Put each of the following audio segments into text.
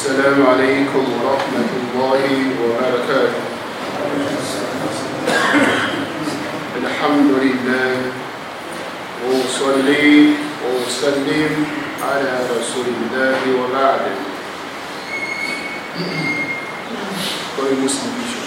السلام عليكم ورحمة الله وبركاته. الحمد لله وأصلي وأسلم على رسول الله وبعد.各位穆斯林弟兄，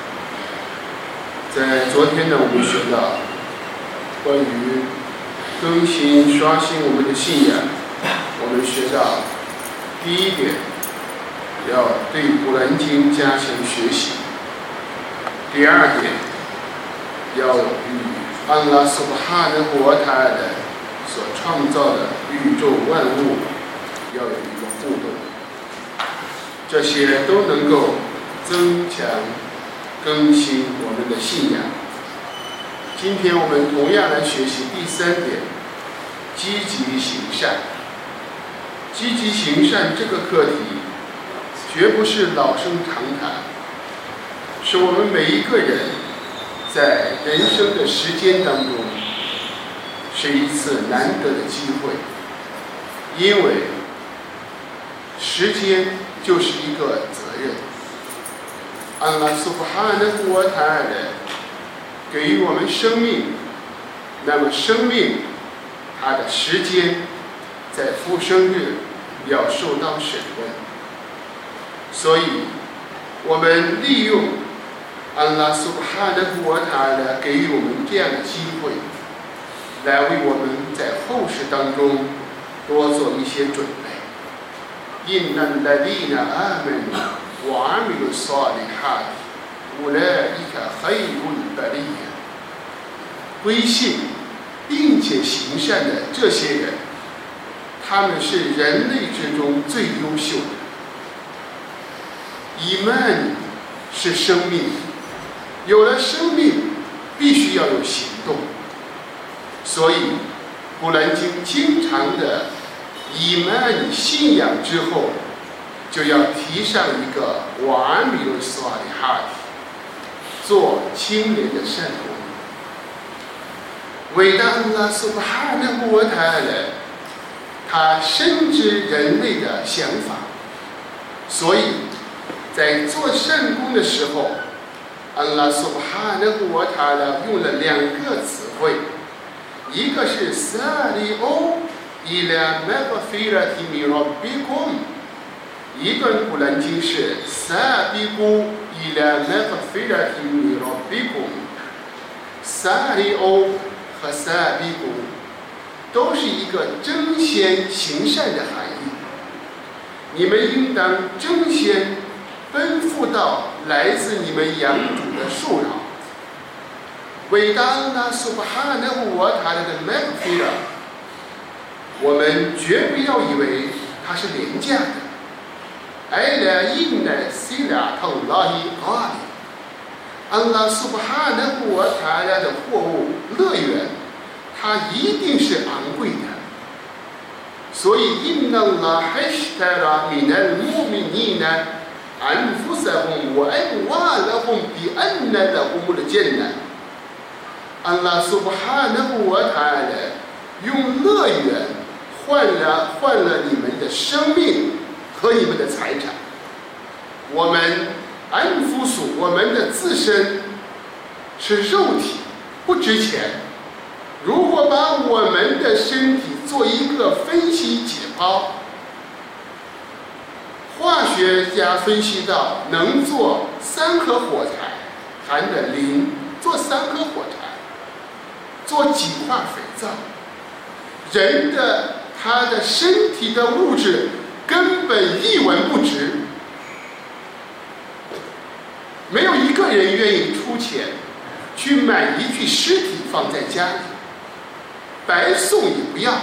在昨天呢，我们学到关于更新刷新我们的信仰，我们学到第一点，要对古兰经加强学习；第二点，要与安拉苏巴哈的国他的所创造的宇宙万物要有一个互动，这些都能够增强更新我们的信仰。今天我们同样来学习第三点，积极行善。积极行善这个课题绝不是老生常谈，是我们每一个人在人生的时间当中是一次难得的机会，因为时间就是一个责任。安拉苏巴哈纳胡wa ta'ala给予我们生命，那么生命它的时间在复生日要受到审问，所以我们利用安拉苏巴哈纳胡wa ta'ala给予我们这样的机会，来为我们在后世当中多做一些准备。إن الذين آمنوا وعملوا الصالحات أولئك خير البرية。归信并且行善的这些人，他们是人类之中最优秀的。伊曼是生命，有了生命必须要有行动，所以古兰经经常的伊曼信仰之后，就要提上一个瓦米鲁斯瓦里哈提，做清廉的善功。伟大安拉苏巴哈纳胡wa ta'ala他深知人类的想法，所以在做善功的时候，安拉苏巴哈纳胡wa ta'ala用了两个词汇，一个是萨里欧伊拉麦巴菲拉提米罗比贡，一段古兰经是萨比古伊拉麦巴菲拉提米罗比贡，萨里欧和萨比古都是一个争先行善的含义。你们应当争先奔赴到来自你们养主的树上。伟大安拉苏巴哈纳胡wa ta'ala的麦克菲拉，我们绝不要以为它是廉价的。艾拉因奈西拉特拉伊阿里，安拉苏巴哈纳胡wa ta'ala的货物乐园，它一定是昂贵的。所以因那拉海什塔拉米奈穆米尼呢，安福萨洪我安瓦拉洪比安奈的洪的艰难。安拉苏巴哈纳胡wa ta'ala用乐园换了你们的生命和你们的财产。我们安福属我们的自身是肉体，不值钱。如果把我们的身体做一个分析解剖，化学家分析到能做3颗火柴含的磷，做3颗火柴，做几块肥皂。人的他的身体的物质根本一文不值，没有一个人愿意出钱去买一具尸体放在家里，白送也不要。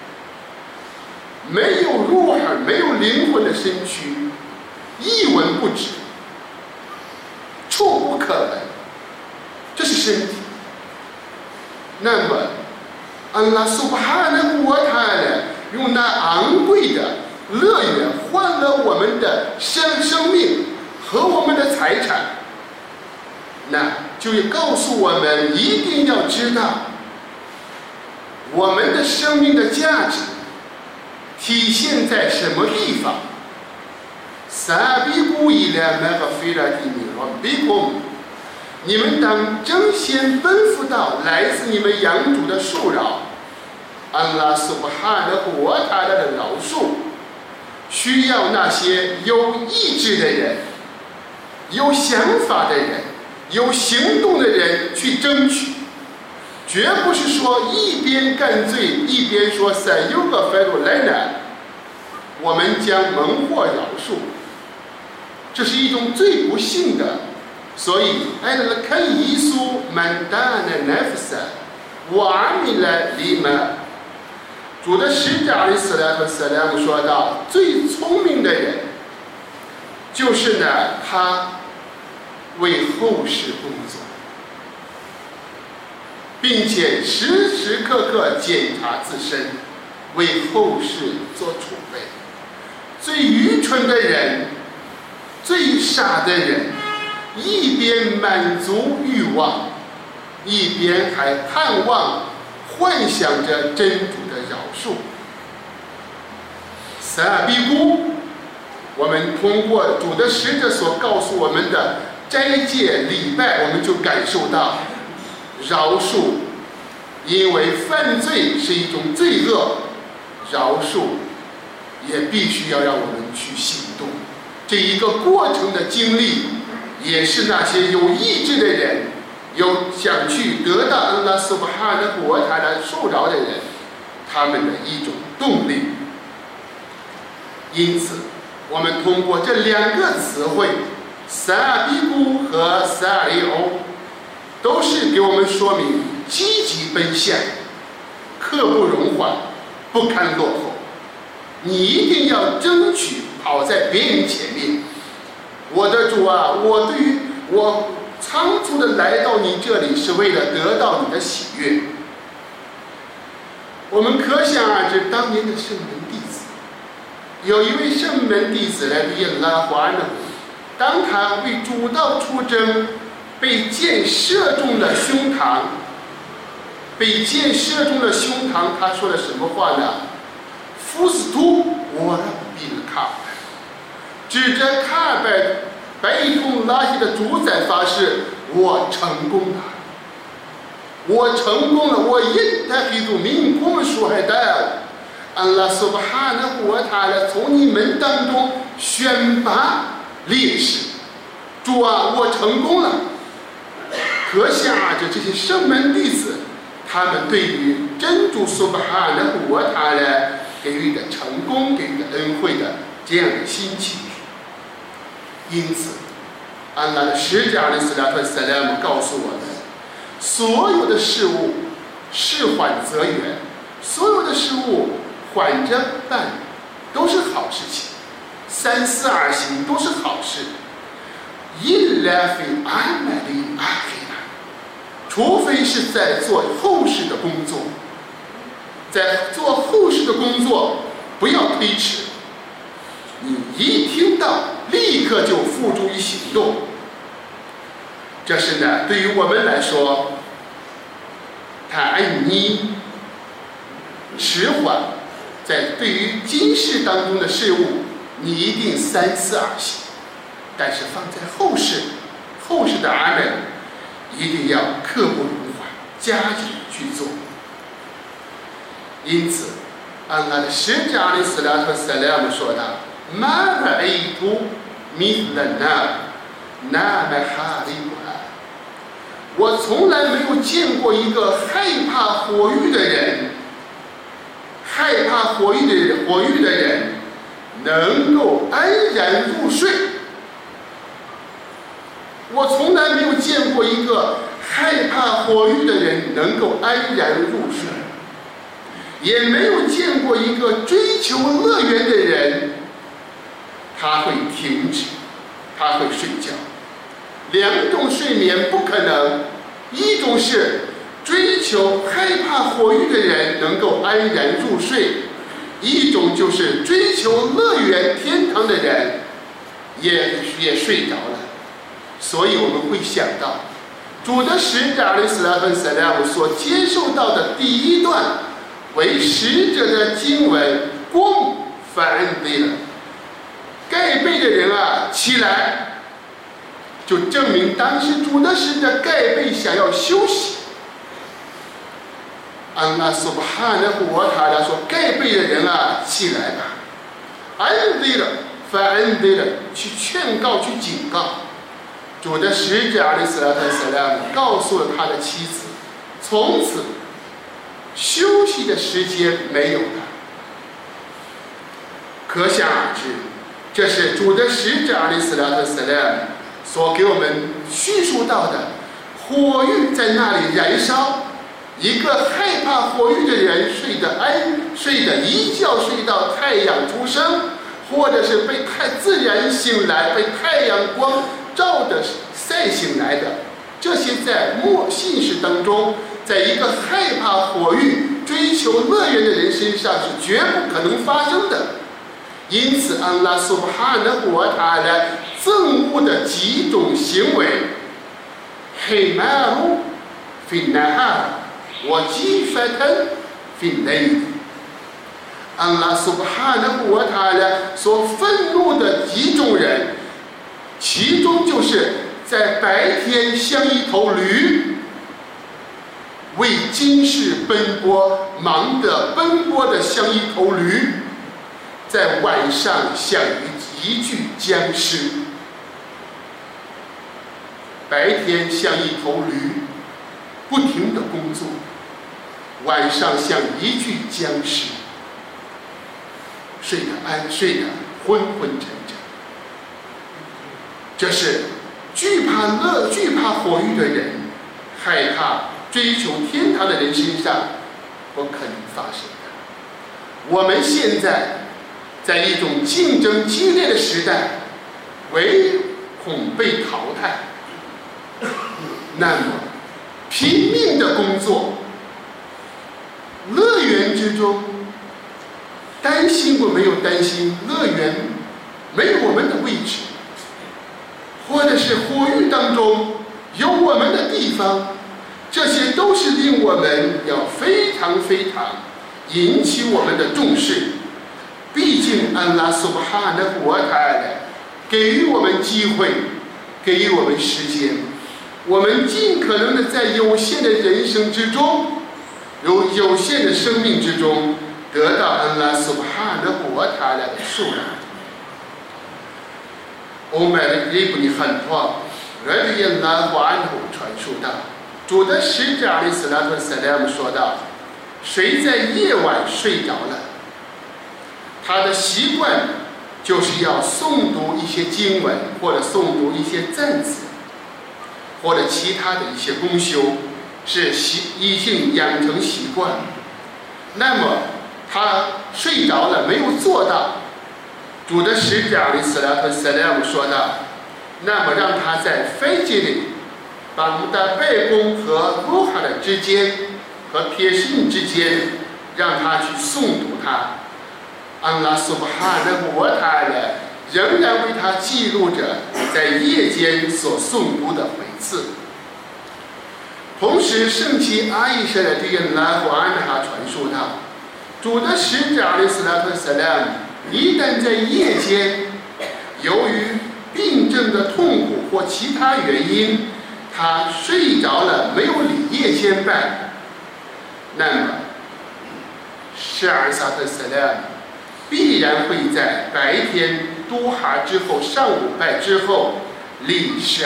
没有入耳、没有灵魂的身躯，一文不值，触不可闻，这是身体。那么安拉苏巴哈纳胡wa ta'ala用那昂贵的乐园换了我们的生命和我们的财产，那就告诉我们一定要知道我们的生命的价值体现在什么地方。 سابقوا إلى مغفرة من ربكم，你们当争先奔赴到来自你们养主的恕饶。安拉苏巴哈的国他的饶恕，需要那些有意志的人、有想法的人、有行动的人去争取，绝不是说一边干罪一边说塞尤个费鲁莱呢，我们将蒙获饶恕，这是一种最不幸的。所以艾勒看耶稣曼达的奈夫萨瓦米来里曼，主的使者阿里斯莱和斯莱姆说到，最聪明的人就是呢，他为后世工作，并且时时刻刻检查自身，为后世做储备。最愚蠢的人，最傻的人，一边满足欲望，一边还盼望幻想着真主的饶恕。撒比古，我们通过主的使者所告诉我们的斋戒礼拜，我们就感受到饶恕，因为犯罪是一种罪恶，饶恕也必须要让我们去行动。这一个过程的经历，也是那些有意志的人，有想去得到安拉苏巴哈的国他的受饶的人，他们的一种动力。因此我们通过这两个词汇萨比古和萨里欧，都是给我们说明积极奔向，刻不容缓，不堪落后。你一定要争取跑在别人前面。我的主啊，我仓促的来到你这里，是为了得到你的喜悦。我们可想而知，当年的圣门弟子，有一位圣门弟子来比拉华呢，当他为主道出征，被箭射中了胸膛，他说了什么话呢？夫斯图我让比了卡，指着卡白通拉希的主宰发誓，我成功了，我因他给主民工说还带安拉苏巴哈的国他来从你们当中选拔烈士。主啊，我成功了。可想而知，这些圣门弟子，他们对于真主苏巴哈的国他来给予的成功，给予的恩惠的这样的心情。因此安拉的使者阿里斯拉特塞莱姆告诉我们，所有的事物事缓则圆，所有的事物缓着办都是好事情，三思而行都是好事。除非是在做后世的工作，在做后世的工作不要推迟，你一听到立刻就付诸于行动。这是呢，对于我们来说，你迟缓，在对于今世当中的事物，你一定三思而行。但是放在后世的阿门，一定要刻不容缓，加紧去做。因此安拉的使者阿里斯拉特塞莱姆说道：马拉伊图米勒那么哈利古拉，我从来没有见过一个害怕火狱的人能够安然入睡。我从来没有见过一个害怕火狱的人能够安然入睡，也没有见过一个追求乐园的人他会停止，他会睡觉。两种睡眠不可能，一种是追求害怕火狱的人能够安然入睡，一种就是追求乐园天堂的人也睡着了。所以我们会想到主的使者阿里斯拉芬塞莱姆所接受到的第一段为使者的经文，公反对了，该盖被的人啊起来，就证明当时主的使者盖被想要休息。安拉苏巴哈纳胡瓦塔拉说：“盖被的人啊，起来吧！安迪了，反安迪了，去劝告，去警告。”主的使者阿里斯拉特斯拉姆告诉了他的妻子，从此休息的时间没有了。可想而知，这是主的使者阿里斯拉特斯拉姆所给我们叙述到的火狱在那里燃烧。一个害怕火狱的人睡得一觉睡到太阳出生，或者是被自然醒来，被太阳光照着晒醒来的，这些在信士当中，在一个害怕火狱、追求乐园的人身上是绝不可能发生的。因此，安拉苏巴哈纳胡瓦塔拉憎恶的几种行为，黑马路、费纳哈。我激发他分类，安拉苏巴哈纳胡瓦塔拉所愤怒的几种人，其中就是在白天像一头驴，为今世奔波，忙得奔波的像一头驴，在晚上像一具僵尸。白天像一头驴，不停地工作。晚上像一具僵尸，睡得昏昏沉沉。这是惧怕火狱的人，害怕追求天堂的人身上不可能发生的。我们现在在一种竞争激烈的时代，唯恐被淘汰，那么拼命的工作。乐园之中，担心过没有担心乐园没有我们的位置，或者是火狱当中有我们的地方，这些都是令我们要非常非常引起我们的重视。毕竟安拉苏巴哈纳胡瓦塔拉给予我们机会，给予我们时间，我们尽可能的在有限的人生之中，有限的生命之中，得到安拉苏巴哈纳胡瓦塔拉的数量。欧麦的伊布尼罕托勒里耶拉胡安胡传述道，主的使者阿里斯拉特萨拉姆说道：谁在夜晚睡着了，他的习惯就是要诵读一些经文，或者诵读一些赞词，或者其他的一些功修，是已经养成习惯。那么他睡着了没有做到，主的使者阿里斯拉特萨拉姆说道：那么让他在飞机里，把我们的背弓和卢哈的之间和撇信之间，让他去诵读它。安拉苏巴哈纳胡瓦塔拉仍然为他记录着在夜间所诵读的回次。同时，圣妻阿伊莎的这个拉胡安哈传述道，主的使者阿里斯拉特萨拉姆一旦在夜间，由于病症的痛苦或其他原因，他睡着了，没有理夜间拜，那么施尔萨特萨拉姆必然会在白天都哈之后，上午拜之后立12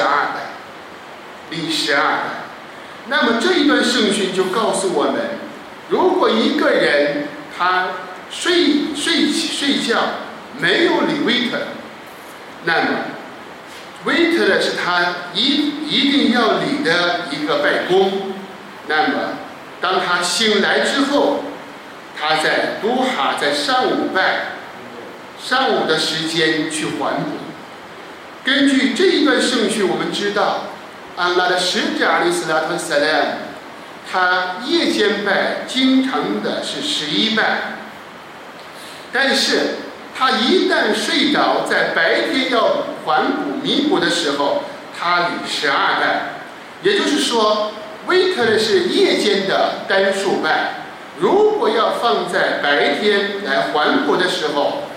拜。那么这一段圣训就告诉我们，如果一个人他睡觉没有理维特，那么维特是他一定要理的一个拜功。那么当他醒来之后，他在都哈在上午拜，上午的时间去还补。根据这一段圣训，我们知道安拉的使者阿里斯拉特萨拉姆，他夜间拜经常的是11拜，但是他一旦睡着，在白天要还补弥补的时候，他理12拜。也就是说，维特是夜间的单数拜，如果要放在白天来还补的时候，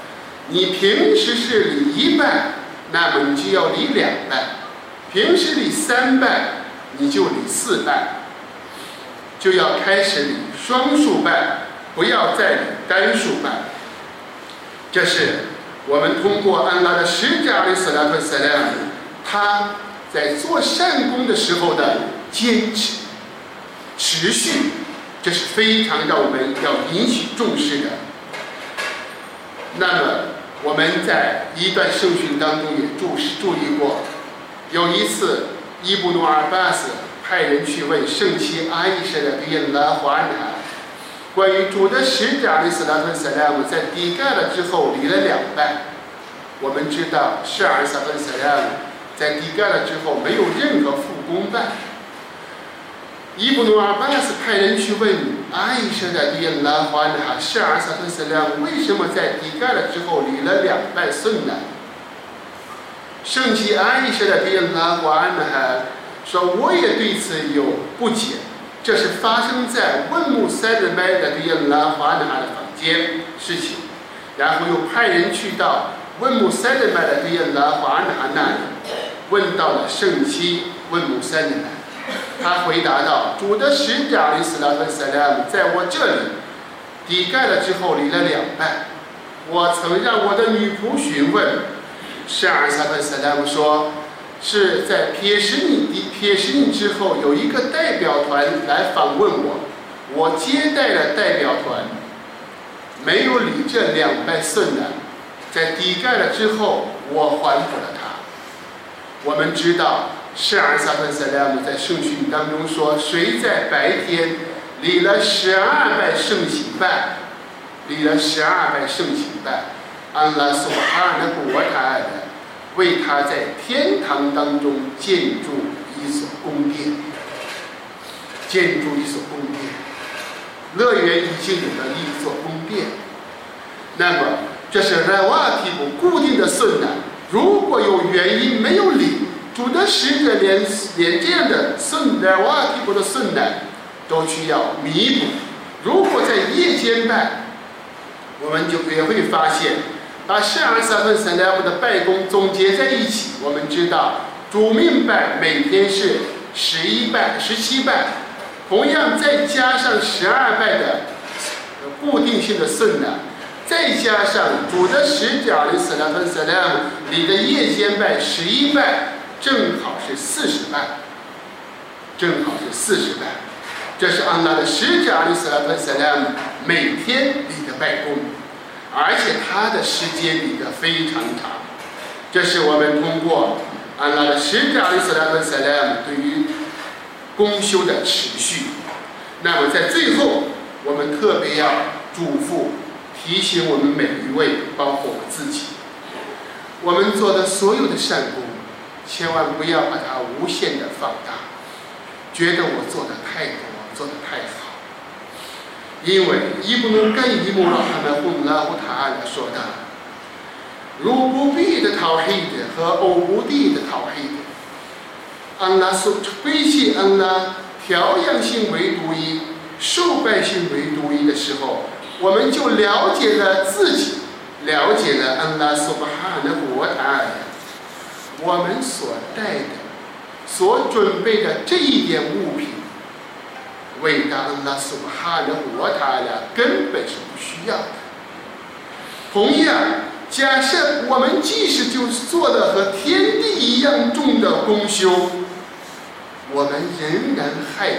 你平时是礼1拜，那么你就要礼2拜；平时礼3拜，你就礼4拜，就要开始礼双数拜，不要再礼单数拜。这是我们通过安拉的使者阿里斯拉特塞莱姆，他在做善功的时候的坚持、持续，这是非常让我们要引起重视的。那么我们在一段圣训当中也注意过，有一次伊布努阿巴斯派人去问圣妻阿伊莎的比拉华安哈，关于主的使者阿里斯拉特塞莱姆在底盖了之后礼了2拜。我们知道是阿里斯拉特塞莱姆在底盖了之后没有任何复功拜。伊布努阿巴斯派人去问阿伊莎的比拉华安哈，是阿里斯拉特塞莱姆为什么在底盖了之后礼了2拜顺呢？圣妻阿伊莎的比拉华安哈说，我也对此有不解，这是发生在问穆塞尔麦的比拉华安哈的房间事情，然后又派人去到问穆塞尔麦的比拉华安哈那里，问到了圣妻问穆塞尔麦，他回答道：主的使者阿里斯拉特塞莱姆在我这里底盖了之后礼了2拜。我曾让我的女仆询问，是阿里斯拉特塞莱姆说，是在撇什尼之后有一个代表团来访问我，我接待了代表团，没有礼这2拜顺的，在底盖了之后我还给了他。我们知道是阿里斯拉特塞莱姆在圣训当中说，谁在白天礼了12拜圣行拜，礼了12拜圣行拜，安拉苏哈纳古瓦塔尔为他在天堂当中建筑一所宫殿，建筑一所宫殿，乐园已经有了一座宫殿。那么这是拉瓦提布固定的顺呢，如果有原因没有礼，主的使者连这样的顺拉瓦提布的顺呢都需要弥补。如果在夜间拜，我们就也会发现把是阿里斯拉特塞莱姆的拜功总结在一起，我们知道主命拜每天是11拜、17拜，同样再加上12拜的固定性的顺呢，再加上主的使者阿里斯拉特塞莱姆里的夜间拜11拜，正好是40拜，正好是40拜。这是安拉的使者阿里斯拉特塞莱姆每天里的拜功，而且他的时间里的非常长。这是我们通过安拉的使者阿里斯拉特塞莱姆对于功修的持续。那么在最后，我们特别要嘱咐提醒我们每一位，包括我自己，我们做的所有的善功，千万不要把它无限的放大，觉得我做的太多，做的太好。因为伊布努盖伊姆拉哈纳胡拉胡塔尔说的，卢布比的陶黑的和欧布地的陶黑的，安拉所归系安拉调养性为独一，受拜性为独一的时候，我们就了解了自己，了解了安拉苏巴哈的国塔尔，我们所带的、所准备的这一点物品，伟大安拉苏巴哈的国塔尔根本是不需要的。同样，假设我们即使就做了和天地一样重的功修，我们仍然害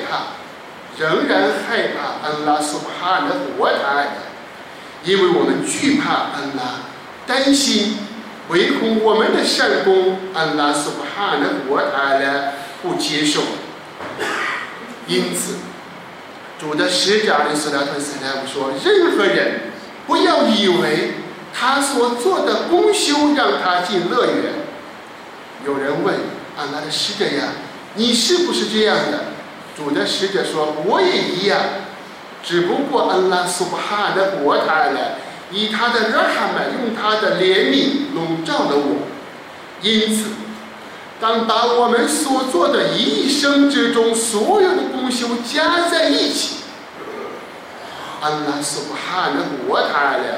怕安拉苏巴哈的国塔尔，因为我们惧怕安拉，担心唯恐我们的善功安拉苏巴哈的国塔尔不接受。因此主的使者阿里斯拉特塞莱姆说，任何人不要以为他所做的功修让他进乐园。有人问安拉的使者呀，你是不是这样的？主的使者说，我也一样，只不过安拉苏巴哈的国塔尔以他的热哈曼，用他的怜悯笼罩了我。因此当把我们所做的一生之中所有的功修加在一起，安拉苏巴哈的国塔尔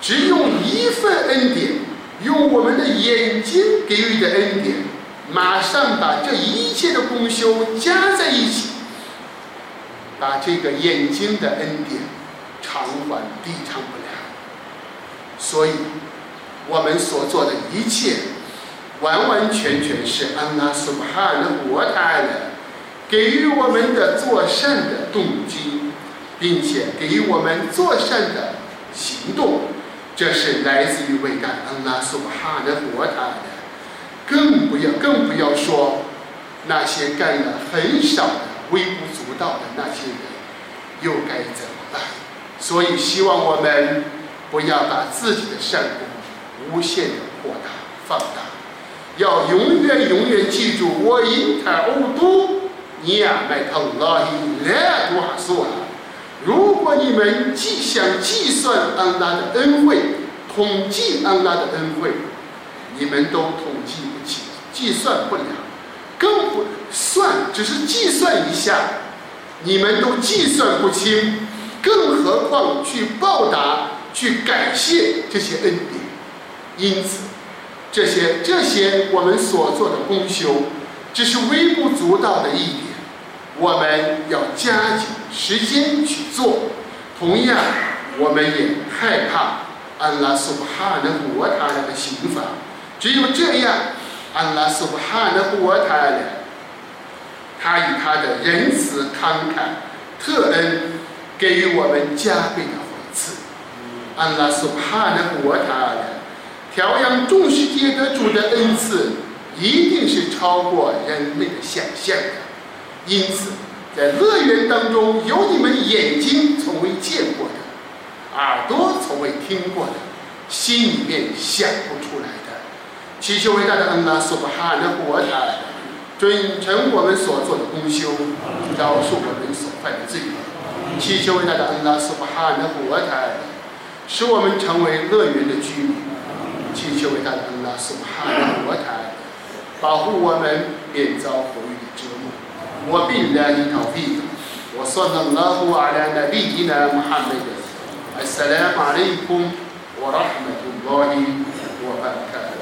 只用一份恩典，用我们的眼睛给予的恩典，马上把这一切的功修加在一起，把这个眼睛的恩典偿还抵偿不了。所以我们所做的一切完完全全是安拉苏巴哈的国泰的给予我们的做善的动机，并且给予我们做善的行动，这是来自于伟大安拉苏巴哈的国泰的。更不要说那些干了很少的微不足道的那些人又该怎么办？所以希望我们不要把自己的善功无限的扩大放大，要永远记住，我因他欧都尼亚麦特拉伊来多哈苏啊！如果你们想计算安拉的恩惠，统计安拉的恩惠，你们都统计不起，计算不了，更不算，只是计算一下，你们都计算不清，更何况去报答、去感谢这些恩典。因此，这些我们所做的功修，只是微不足道的一点，我们要加紧时间去做。同样，我们也害怕安拉苏巴哈的国他的刑罚。只有这样，安拉苏巴哈的国他以他的仁慈慷慨特恩给予我们加倍的回赐。安拉苏巴哈的国调养众世界的主的恩赐一定是超过人类的想象的。因此，在乐园当中，有你们眼睛从未见过的，耳朵从未听过的，心里面想不出来的。祈求伟大的安拉苏巴哈的国准成我们所做的功修，饶恕我们所犯的罪恶。祈求伟大的安拉苏巴哈的国使我们成为乐园的居民。祈求伟大的安拉苏巴哈的国保护我们免遭火狱的折磨。وبالله التوفيق وصلى الله على نبينا محمد. السلام عليكم ورحمة الله وبركاته.